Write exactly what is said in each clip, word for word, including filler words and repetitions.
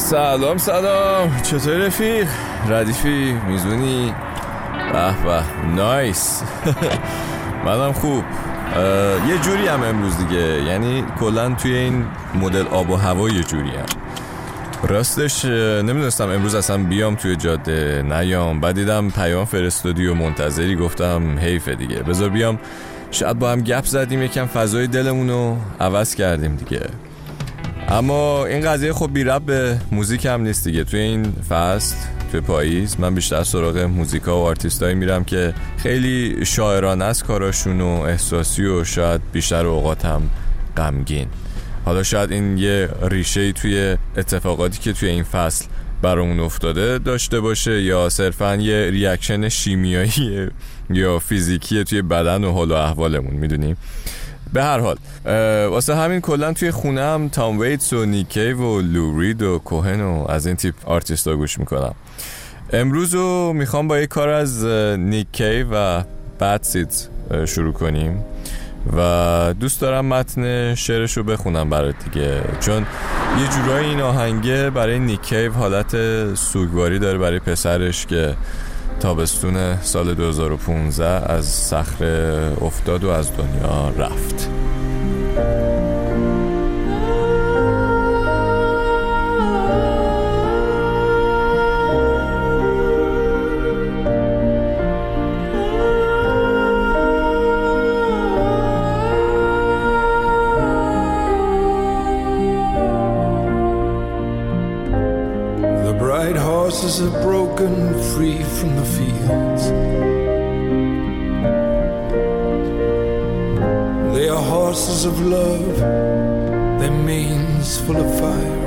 سلام سلام، چطوری رفیق؟ ردیفی؟ میزونی؟ به به نایس. منم خوب. یه جوری هم امروز دیگه، یعنی کلن توی این مدل آب و هوا یه جوری هم. راستش نمیدونستم امروز اصلا بیام توی جاده نیام، بعد دیدم پیام فرستادی و منتظری، گفتم حیفه دیگه بذار بیام، شاید با هم گپ زدیم یکم فضای دلمونو عوض کردیم دیگه. اما این قضیه خب بی ربط به موزیک هم نیست دیگه. توی این فصل توی پاییز من بیشتر سراغ موزیکا و آرتیستایی میرم که خیلی شاعرانه است کاراشون و احساسی و شاید بیشتر اوقات هم غمگین. حالا شاید این یه ریشه‌ای توی اتفاقاتی که توی این فصل برامون افتاده داشته باشه، یا صرفاً یه ریاکشن شیمیایی یا فیزیکی توی بدن و حال و احوالمون، میدونیم. به هر حال واسه همین کلن توی خونه هم تام ویتس و نیک کیو و لو رید و کوهن و از این تیپ آرتیستا گوش میکنم. امروز رو میخوام با یک کار از نیک کیو و بد سیدز شروع کنیم و دوست دارم متن شعرش رو بخونم برات دیگه، چون یه جورایی این آهنگه برای نیک کیو حالت سوگواری داره برای پسرش که تابستون سال دو هزار و پانزده از صخره افتاد و از دنیا رفت. Horses are broken free from the fields. They are horses of love, their manes full of fire.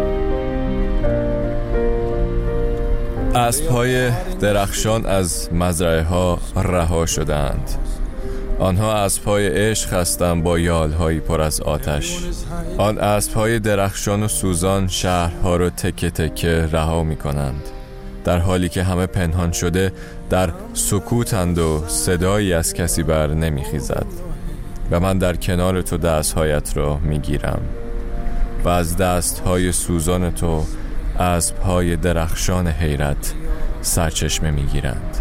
اسب‌های درخشان از مزرعه ها رها شدند. آنها اسب‌های عشق هستند با یال‌هایی پر از آتش. آن اسب‌های درخشان و سوزان شهرها را تکه تکه رها می‌کنند، در حالی که همه پنهان شده در سکوتند و صدایی از کسی بر نمی‌خیزد. و من در کنار تو دست‌هایت را می‌گیرم و از دست‌های سوزان تو اسب‌های درخشان حیرت سرچشمه می‌گیرند.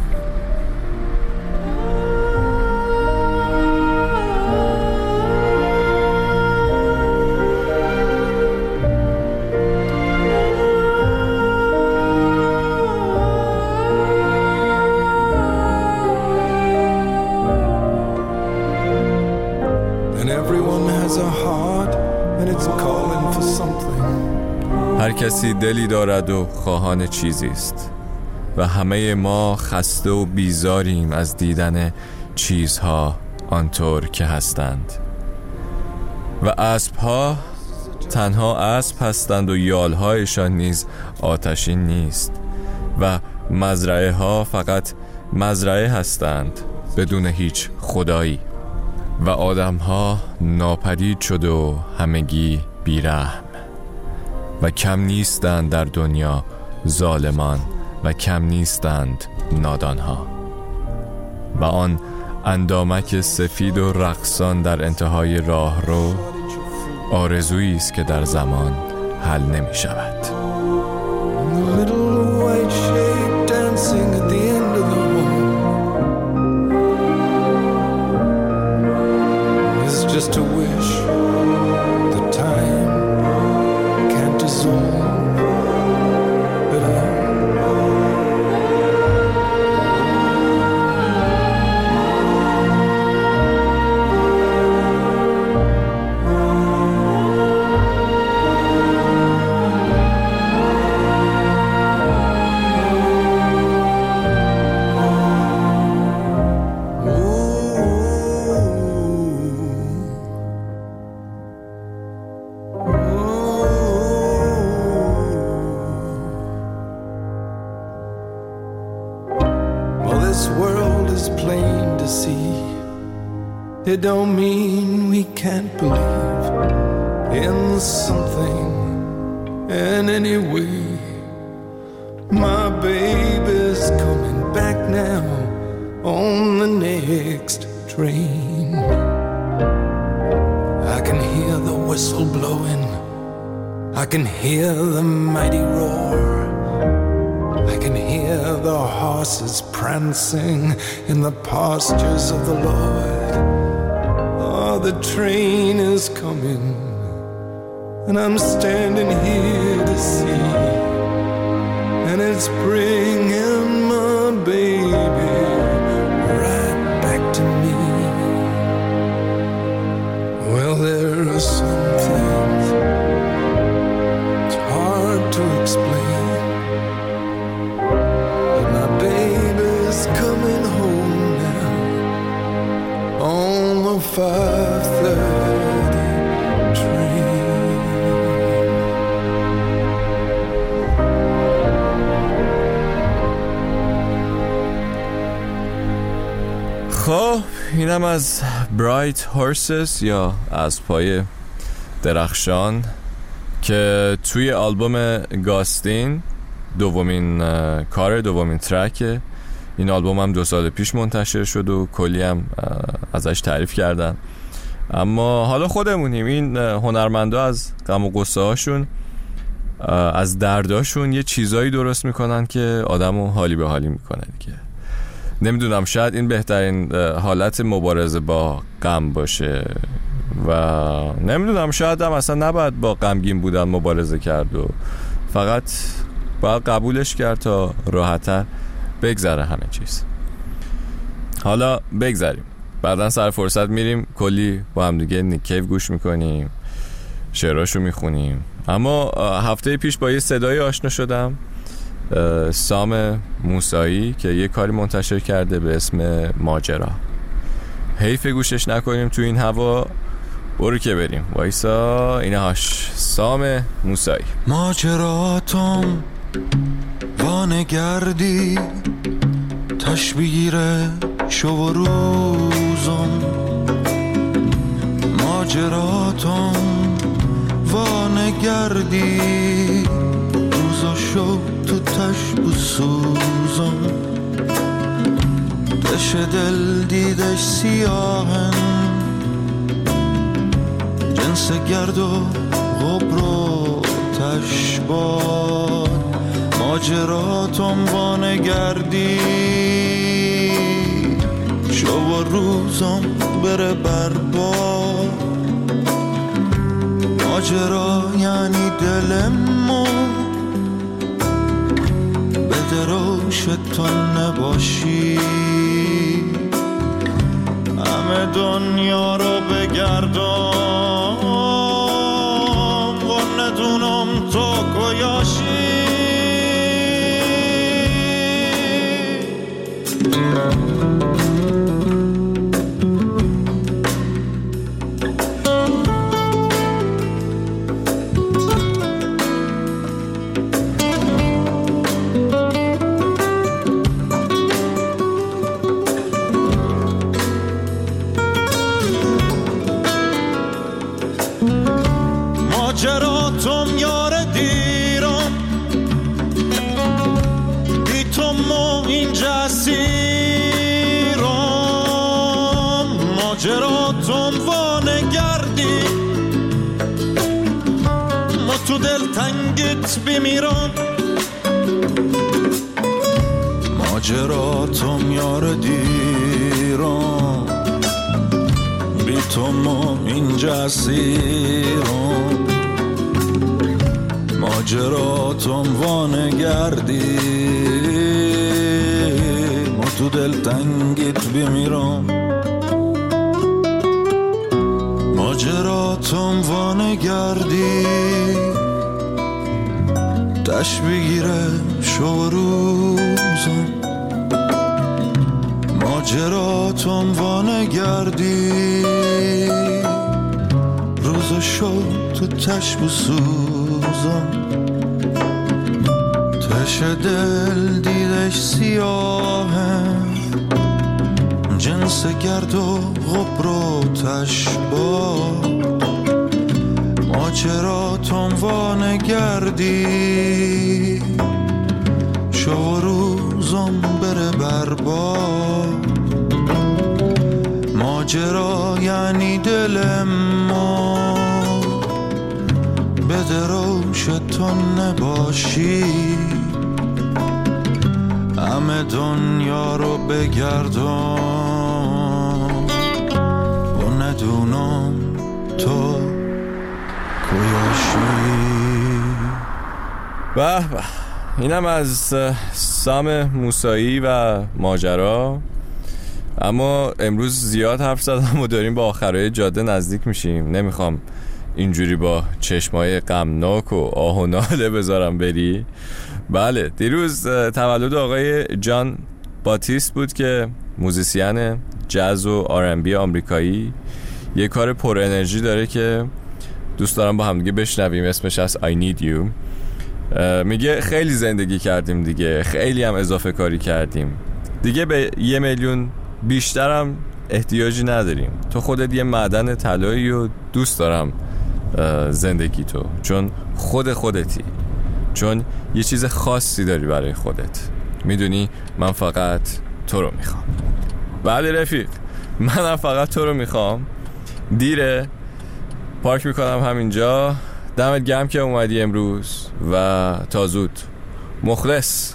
هر کسی دلی دارد و خواهان چیزی است و همه ما خسته و بیزاریم از دیدن چیزها آنطور که هستند. و اسبها تنها اسب هستند و یالهایشان نیز آتشین نیست و مزرعه ها فقط مزرعه هستند بدون هیچ خدایی و آدم ها ناپدید شد و همگی بیرحم و کم نیستند در دنیا ظالمان و کم نیستند نادان ها و آن اندامک سفید و رقصان در انتهای راه رو آرزویی است که در زمان حل نمی شود. Just to wish the time can't dissolve at all. This world is plain to see. It don't mean we can't believe in something in any way. My baby's coming back now on the next train. I can hear the whistle blowing. I can hear the mighty roar. I can hear the horses prancing in the pastures of the Lord. Oh, the train is coming, and I'm standing here to see, and it's bringing my baby right back to me. Well, there are some things it's hard to explain, but my baby's coming home now on the five thirty train. خب اینم از Bright Horses یا از پای درخشان که توی آلبوم گاستین دومین کار دومین ترکه. این آلبوم هم دو سال پیش منتشر شد و کلی هم ازش تعریف کردن، اما حالا خودمونیم. این هنرمندا از غم و غصه هاشون، از درداشون یه چیزایی درست میکنن که آدمو حالی به حالی میکنه دیگه. نمیدونم، شاید این بهترین حالت مبارزه با غم باشه و نمیدونم، شاید هم اصلا نباید با غمگین بودن مبارزه کرد و فقط باید قبولش کرد تا راحت‌تر بگذره همه چیز. حالا بگذاریم، بعدن سر فرصت میریم کلی با هم دیگه نیک کیو گوش میکنیم، شعراشو میخونیم. اما هفته پیش با یه صدای آشنا شدم، سام موسایی که یه کاری منتشر کرده به اسم ماجرا. حیف گوشش نکنیم تو این هوا، برو که بریم. وایسا اینهاش، سام موسایی. ماجراتم وانگردی تشبیره شو و روزم، ماجراتم وانگردی روزا شو تو تشب و سوزم، دش دل دیدش سیاهن جنس گرد و غبر و تشباد، ماجراتم وانگردی شو و روزم بره برباد، ماجرا یعنی دلمو بدروش تو نباشی، همه دنیا رو بگردم و ندونم تو کجاشی. ماجراتم یار دیرم بی تو ما اینجا اسیرم، ماجراتم وانگردی ما تو دل تنگت بمیرم، ماجراتم یار دیرم بی تو ما اینجا اسیرم، ماجراتم وانگردی ما تو دل تنگیت بمیرم، ماجراتم وانگردی تش بگیره شو روزم، ماجراتم وانگردی روز شو تو تش بسوزم، تش دل دیدش سیاهه جنس گرد و غبر و تشباه، ماجراتم وانگردی شو روزم بره برباد، ماجرا یعنی دل ما که دروش تو نباشی همه دنیا رو بگردم و ندونم تو کجاشی. به به، اینم از سام موسایی و ماجرا. اما امروز زیاد حرف زدم و داریم با آخرای جاده نزدیک میشیم. نمیخوام اینجوری با چشمای غمناک و آه و ناله بذارم بری. بله، دیروز تولد آقای جان باتیست بود که موزیسین جاز و آر ام بی آمریکایی، یه کار پر انرژی داره که دوست دارم با هم دیگه بشنویم. اسمش از I Need You. میگه خیلی زندگی کردیم دیگه، خیلی هم اضافه کاری کردیم دیگه، به یه میلیون بیشترم احتیاجی نداریم. تو خودت یه معدن طلایی و دوست دارم زندگی تو، چون خود خودتی، چون یه چیز خاصی داری برای خودت. میدونی من فقط تو رو میخوام. بله رفیق، منم فقط تو رو میخوام. دیره، پارک میکنم همینجا. دمت گرم که اومدی امروز و تا زود. مخلص.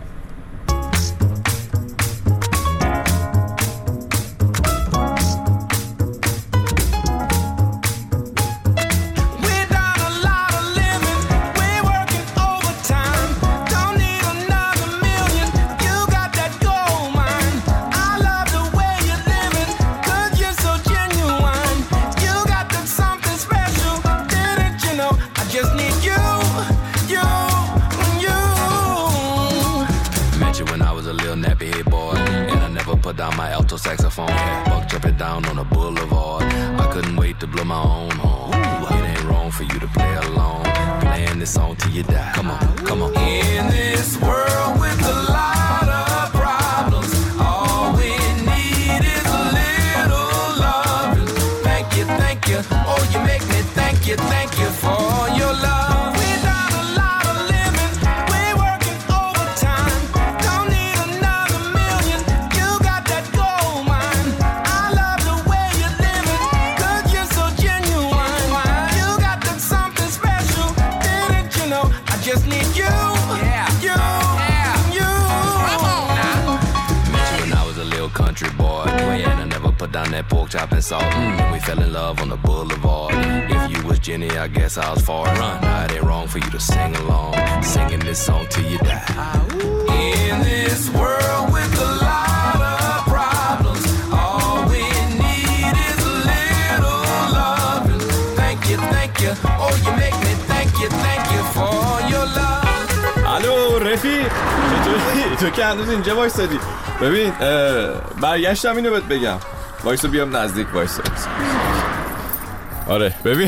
Nappy head boy, and I never put down my alto saxophone. Buck jumping down on a boulevard. I couldn't wait to blow my own horn. It ain't wrong for you to play along, playing this song till you die. Come on, come on. In this world with a lot of problems, all we need is a little love. Thank you, thank you. Oh, you make me thank you, thank you for your love. Country boy, and I never put down that pork chop and salt. Mm. And we fell in love on the boulevard. If you was Jenny, I guess I was far. Run. Now it ain't wrong for you to sing along, singing this song till you die. In this world with a lot of problems, all we need is a little love. Thank you, thank you. Oh, you make me thank you, thank you for your love. الو رفیق، چطوری؟ تو که هنوز اینجا وایسادی؟ ببین برگشتم اینو بهت بگم. وایسو بیام نزدیک وایسو. آره ببین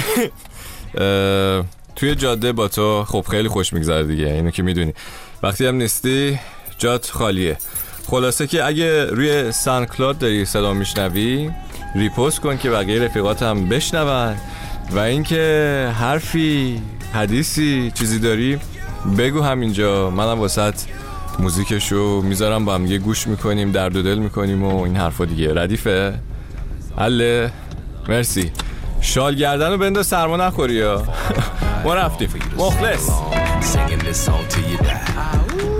توی جاده با تو خب خیلی خوش میگذره دیگه، اینو که میدونی. وقتی هم نیستی جات خالیه. خلاصه که اگه روی سانکلاد داری صدا میشنوی ریپوست کن که بقیه رفیقات هم بشنون، و اینکه حرفی حدیثی چیزی داری بگو همینجا. منم واسط موزیکشو میذارم، با هم یه گوش میکنیم، درد و دل میکنیم و این حرفا دیگه. ردیفه؟ حله؟ مرسی. شال گردن رو بنداز سرما نخوری ها. ما رفتیم. مخلص.